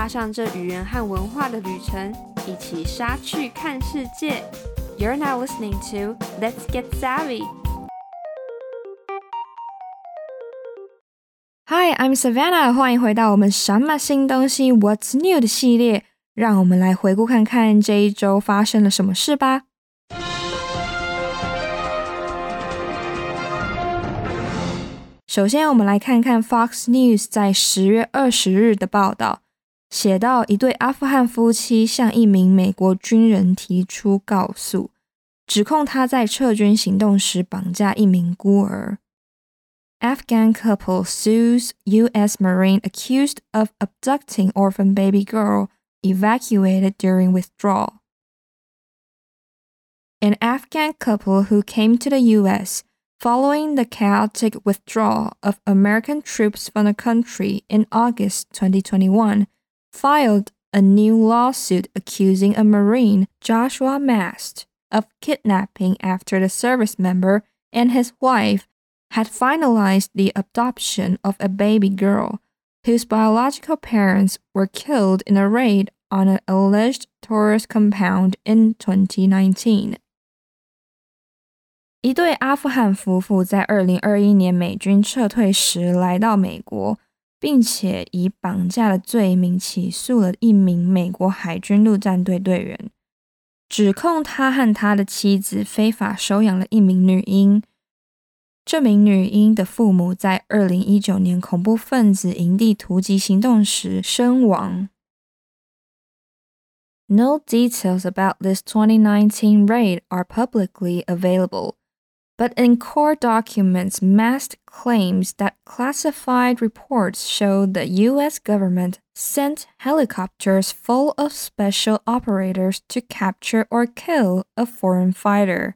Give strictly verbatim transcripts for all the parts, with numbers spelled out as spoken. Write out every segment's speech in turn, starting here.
上這語言和文化的旅程，一起莎去看世界。You're now listening to Let's Get Savvy. Hi, I'm Savannah. 歡迎回到我們什麼新東西 What's New 的系列，讓我們來回顧看看這一周發生了什麼事吧。首先，我們來看看 Fox News 在十月二十日的報道，寫到一對阿富汗夫妻向一名美國軍人提出告訴，指控他在撤軍行動時綁架一名孤兒。Afghan couple sues U S Marine accused of abducting orphan baby girl evacuated during withdrawal. An Afghan couple who came to the U S following the chaotic withdrawal of American troops from the country in August twenty twenty-one, filed a new lawsuit accusing a Marine, Joshua Mast, of kidnapping after the service member and his wife had finalized the adoption of a baby girl whose biological parents were killed in a raid on an alleged tourist compound in twenty nineteen. 一對阿富汗夫婦在二零二一年美軍撤退時來到美國，並且以綁架的罪名起訴了一名美國海軍陸戰隊隊員，指控他和他的妻子非法收養了一名女嬰。這名女嬰的父母在二零一九年恐怖分子營地突擊行動時身亡。No details about this twenty nineteen raid are publicly available, but in court documents, Mast claims that classified reports show the U S government sent helicopters full of special operators to capture or kill a foreign fighter.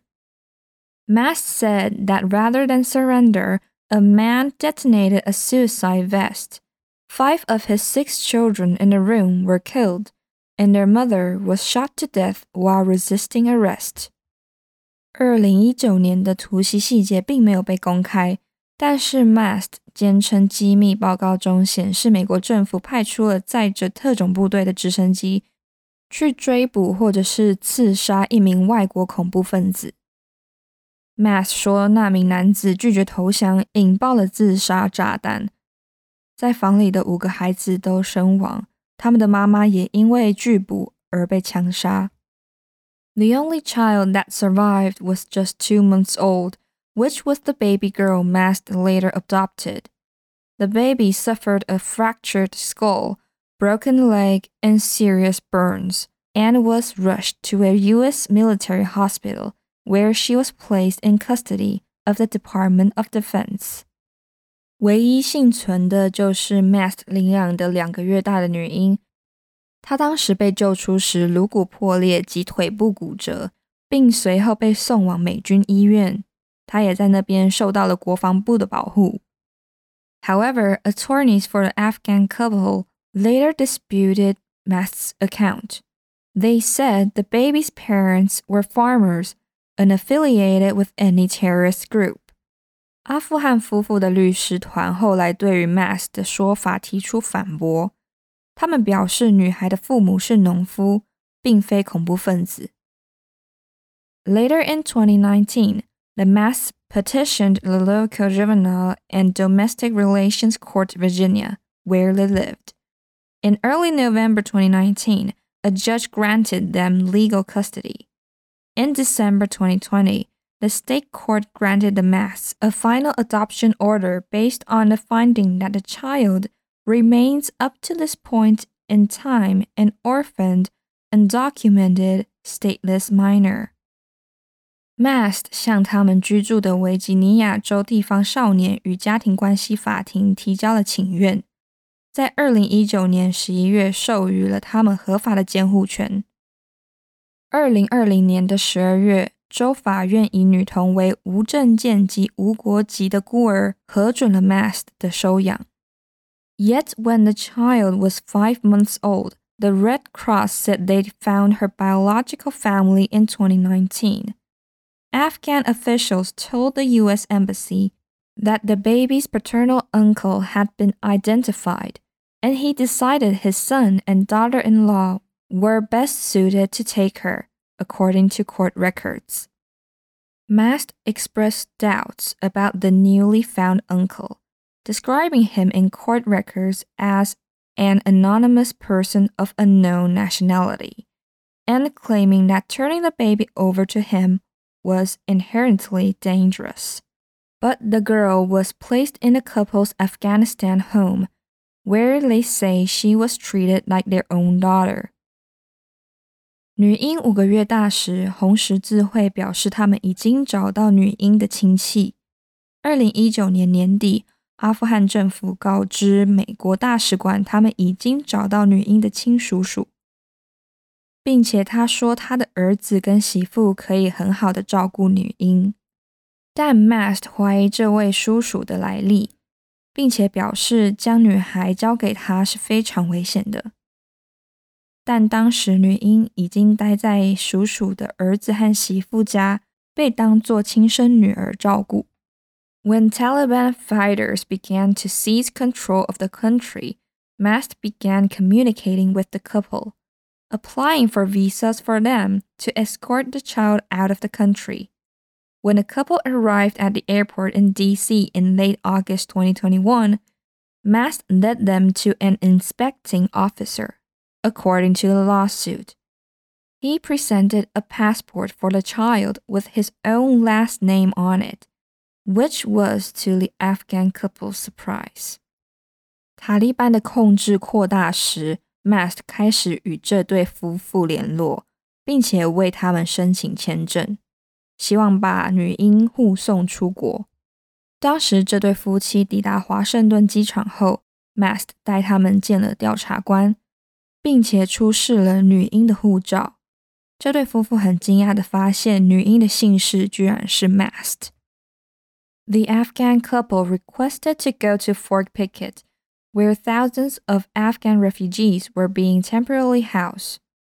Mast said that rather than surrender, a man detonated a suicide vest. Five of his six children in the room were killed, and their mother was shot to death while resisting arrest. 二零一九年的突襲細節並沒有被公開，但是 Mast 堅稱機密報告中顯示美國政府派出了載着特種部隊的直升機去追捕或者是刺殺一名外國恐怖分子。Mast 說那名男子拒絕投降，引爆了自殺炸彈，在房裡的五個孩子都身亡，他們的媽媽也因為拒捕而被槍殺。The only child that survived was just two months old, which was the baby girl Mast later adopted. The baby suffered a fractured skull, broken leg, and serious burns, and was rushed to a U S military hospital, where she was placed in custody of the Department of Defense. 唯一幸存的就是 Mast 領養的兩個月大的女嬰。她當時被救出時顱骨破裂及腿部骨折，並隨後被送往美軍醫院。她也在那邊受到了國防部的保護。However, attorneys for the Afghan couple later disputed Mast's account. They said the baby's parents were farmers, unaffiliated with any terrorist group. 阿富汗夫婦的律師團後來對於 Mast 的說法提出反駁，他們表示女孩的父母是農夫，並非恐怖分子。Later in twenty nineteen, the Masts petitioned the local juvenile and domestic relations court Virginia, where they lived. In early November twenty nineteen, a judge granted them legal custody. In December twenty twenty, the state court granted the Masts a final adoption order based on the finding that the child remains up to this point in time an orphaned, undocumented, stateless minor. Mast 向他們居住的維吉尼亞州地方少年與家庭關係法庭提交了請願，在二零一九年十一月授予了他們合法的監護權。二零二零年的十二月，州法院以女童為無證件及無國籍的孤兒，核准了 Mast 的收養。Yet when the child was five months old, the Red Cross said they'd found her biological family in twenty nineteen. Afghan officials told the U S Embassy that the baby's paternal uncle had been identified, and he decided his son and daughter-in-law were best suited to take her, according to court records. Mast expressed doubts about the newly found uncle, describing him in court records as an anonymous person of unknown nationality, and claiming that turning the baby over to him was inherently dangerous. But the girl was placed in the couple's Afghanistan home, where they say she was treated like their own daughter. 女嬰五個月大時，紅十字會表示他們已經找到女嬰的親戚。二零一九年年底，阿富汗政府告知美國大使館，他們已經找到女嬰的親屬屬，並且他說他的兒子跟媳婦可以很好的照顧女嬰。但 Mast 懷疑這位叔叔的來歷，並且表示將女孩交給他是非常危險的。但當時女嬰已經待在叔叔的兒子和媳婦家，被當作親生女兒照顧。When Taliban fighters began to seize control of the country, Mast began communicating with the couple, applying for visas for them to escort the child out of the country. When the couple arrived at the airport in D C in late August twenty twenty-one, Mast led them to an inspecting officer. According to the lawsuit, he presented a passport for the child with his own last name on it, which was to the Afghan couple's surprise. 塔利班的控制擴大時 ，Mast 開始與這對夫婦聯絡，並且為他們申請簽證，希望把女嬰護送出國。當時這對夫妻抵達華盛頓機場後 ，Mast 帶他們見了調查官。並且出示了女嬰的護照。這對夫婦很驚訝地發現，女嬰的姓氏居然是 Mast。The Afghan couple requested to go to Fort Pickett, where thousands of Afghan refugees were being temporarily housed.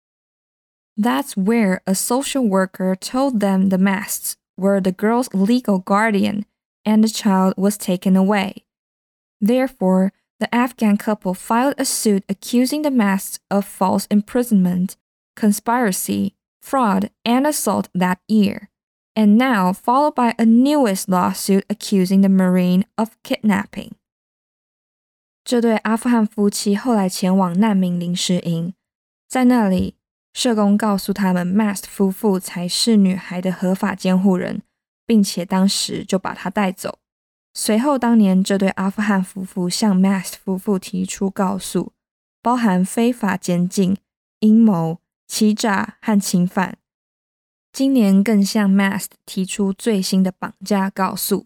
That's where a social worker told them the Masts were the girl's legal guardian, and the child was taken away. Therefore, the Afghan couple filed a suit accusing the Masts of false imprisonment, conspiracy, fraud, and assault that year, and now followed by a newest lawsuit accusing the Marine of kidnapping. 這對阿富汗夫妻後來前往難民臨時營，在那裡，社工告訴他們 Mast 夫婦才是女孩的合法監護人，並且當時就把她帶走。隨後當年這對阿富汗夫婦向 Mast 夫婦提出告訴，包含非法監禁、陰謀、欺詐和侵犯。今年更向 Mast 提出最新的綁架告訴。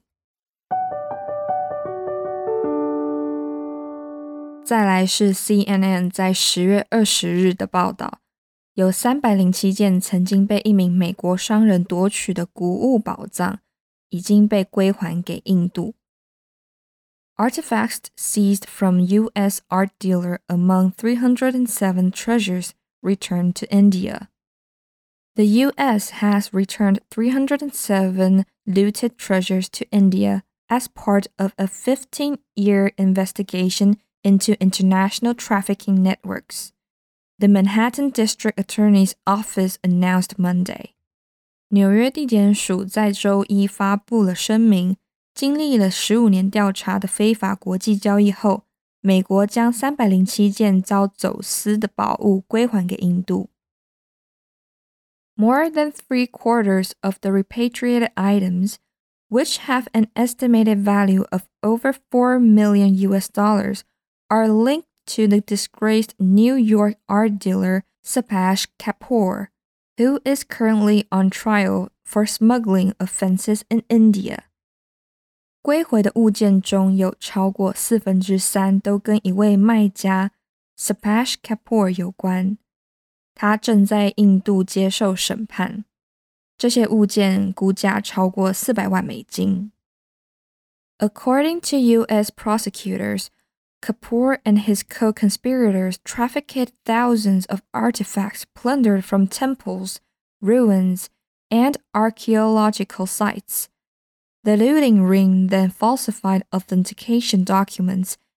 再來是 C N N 在十月二十日的報道，有三百零七件曾經被一名美國商人奪取的古物寶藏，已經被歸還給印度。Artifacts seized from U S art dealer among three hundred seven treasures returned to India. The U S has returned three hundred seven looted treasures to India as part of a fifteen-year investigation into international trafficking networks, the Manhattan District Attorney's Office announced Monday. 紐約地檢署在週一發布了聲明，經歷了十五年調查的非法國際交易後，美國將三百零七件遭走私的寶物歸還給印度。More than three quarters of the repatriated items, which have an estimated value of over four million U S dollars, are linked to the disgraced New York art dealer Subhash Kapoor, who is currently on trial for smuggling offenses in India. 歸回的物件中有超過四分之三都跟一位賣家 Subhash Kapoor 有關，他正在印度接受審判。這些物件估價超過四百萬美金。According to U S prosecutors, Kapoor and his co-conspirators trafficked thousands of artifacts plundered from temples, ruins, and archaeological sites. The looting ring then falsified authentication documents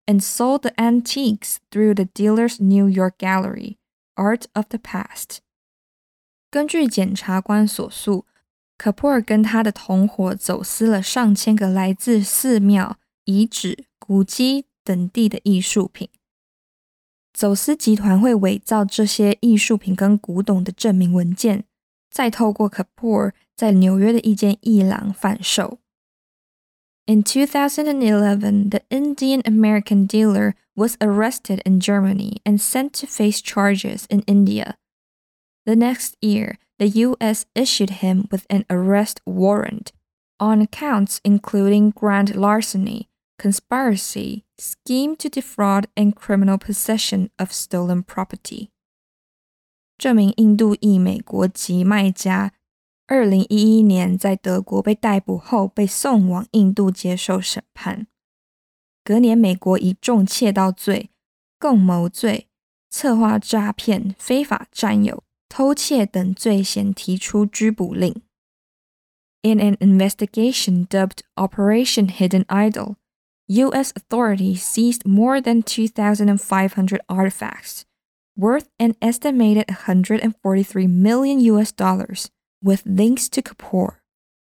and sold the antiques through the dealer's New York gallery, Art of the Past. 根據檢察官所述，可珀爾跟他的同夥走私了上千個來自寺廟、遺址、古蹟等地的藝術品。走私集團會偽造這些藝術品跟古董的證明文件，再透過可珀爾在紐約的一間藝廊販售。In two thousand eleven, the Indian American dealer was arrested in Germany and sent to face charges in India. The next year, the U S issued him with an arrest warrant on counts including grand larceny, conspiracy, scheme to defraud, and criminal possession of stolen property. 這名印度裔美國籍賣家二零一一年在德國被逮捕後被送往印度接受審判。隔年美國以重竊盜罪、共謀罪、策劃詐騙、非法佔有、偷竊等罪嫌提出拘捕令。In an investigation dubbed Operation Hidden Idol, U S authorities seized more than two thousand five hundred artifacts, worth an estimated one hundred forty-three million U S dollars, with links to Kapoor.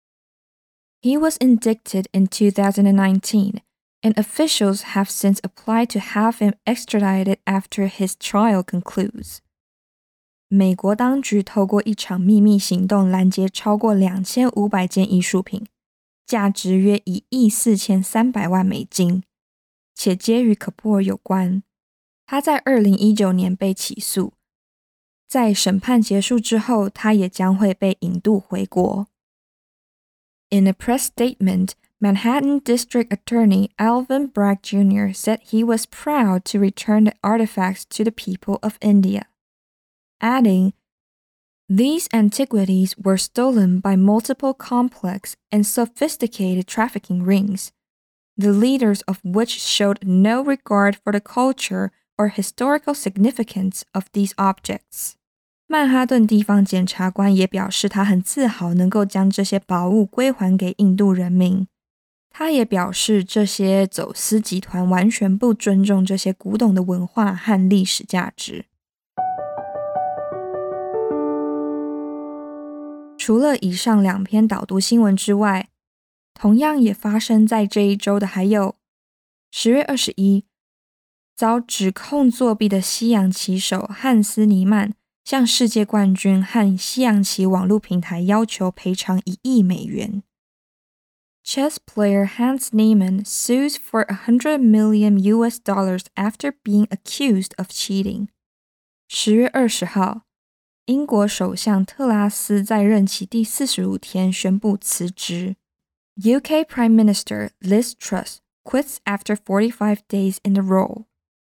He was indicted in two thousand nineteen, and officials have since applied to have him extradited after his trial concludes. 美國當局透過一場秘密行動攔截超過兩千五百件藝術品，價值約一億四千三百萬美金，且皆與可珀爾有關。他在二零一九年被起訴，在審判結束之後，他也將會被引渡回國。In a press statement, Manhattan District Attorney Alvin Bragg Junior said he was proud to return the artifacts to the people of India, adding, "These antiquities were stolen by multiple complex and sophisticated trafficking rings, the leaders of which showed no regard for the culture or historical significance of these objects." 曼哈頓地方檢察官也表示，他很自豪能夠將這些寶物歸還給印度人民。他也表示，這些走私集團完全不尊重這些古董的文化和歷史價值。除了以上兩篇導讀新聞之外，同樣也發生在這一周的還有十月二十一，遭指控作弊的西洋棋手漢斯尼曼向世界冠軍和西洋棋網絡平台要求賠償一億美元。Chess player Hans Niemann sues for one hundred million U S dollars after being accused of cheating. 十月二十號，英國首相特拉斯在任期第四十五天宣布辭職。U K Prime Minister Liz Truss quits after forty-five days in the role.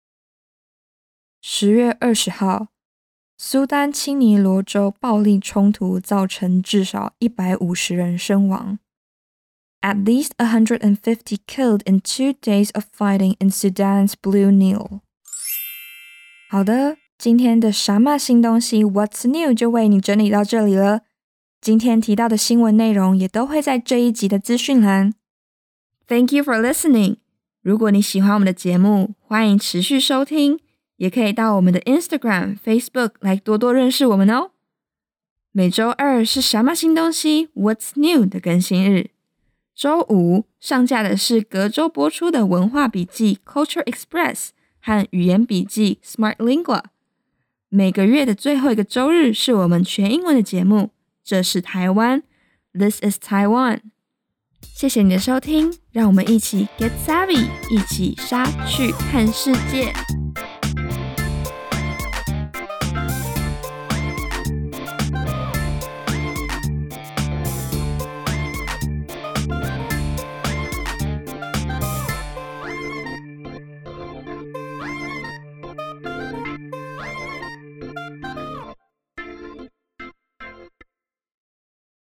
十月二十號，蘇丹清尼羅州暴力衝突造成至少一百五十人身亡。At least one hundred fifty killed in two days of fighting in Sudan's Blue Nile. 好的，今天的什麼新東西 What's New 就為你整理到這裡了。今天提到的新聞內容也都會在這一集的資訊欄。Thank you for listening. 如果你喜歡我們的節目，歡迎持續收聽，也可以到我們的 Instagram、Facebook 來多多認識我們哦。每週二是什麼新東西 What's New 的更新日。週五上架的是隔週播出的文化筆記 Culture Express 和語言筆記 Smart Lingua。每個月的最後一個週日是我們全英文的節目，這是台灣 This is Taiwan。謝謝你的收聽，讓我們一起 Get Savvy， 一起莎去看世界。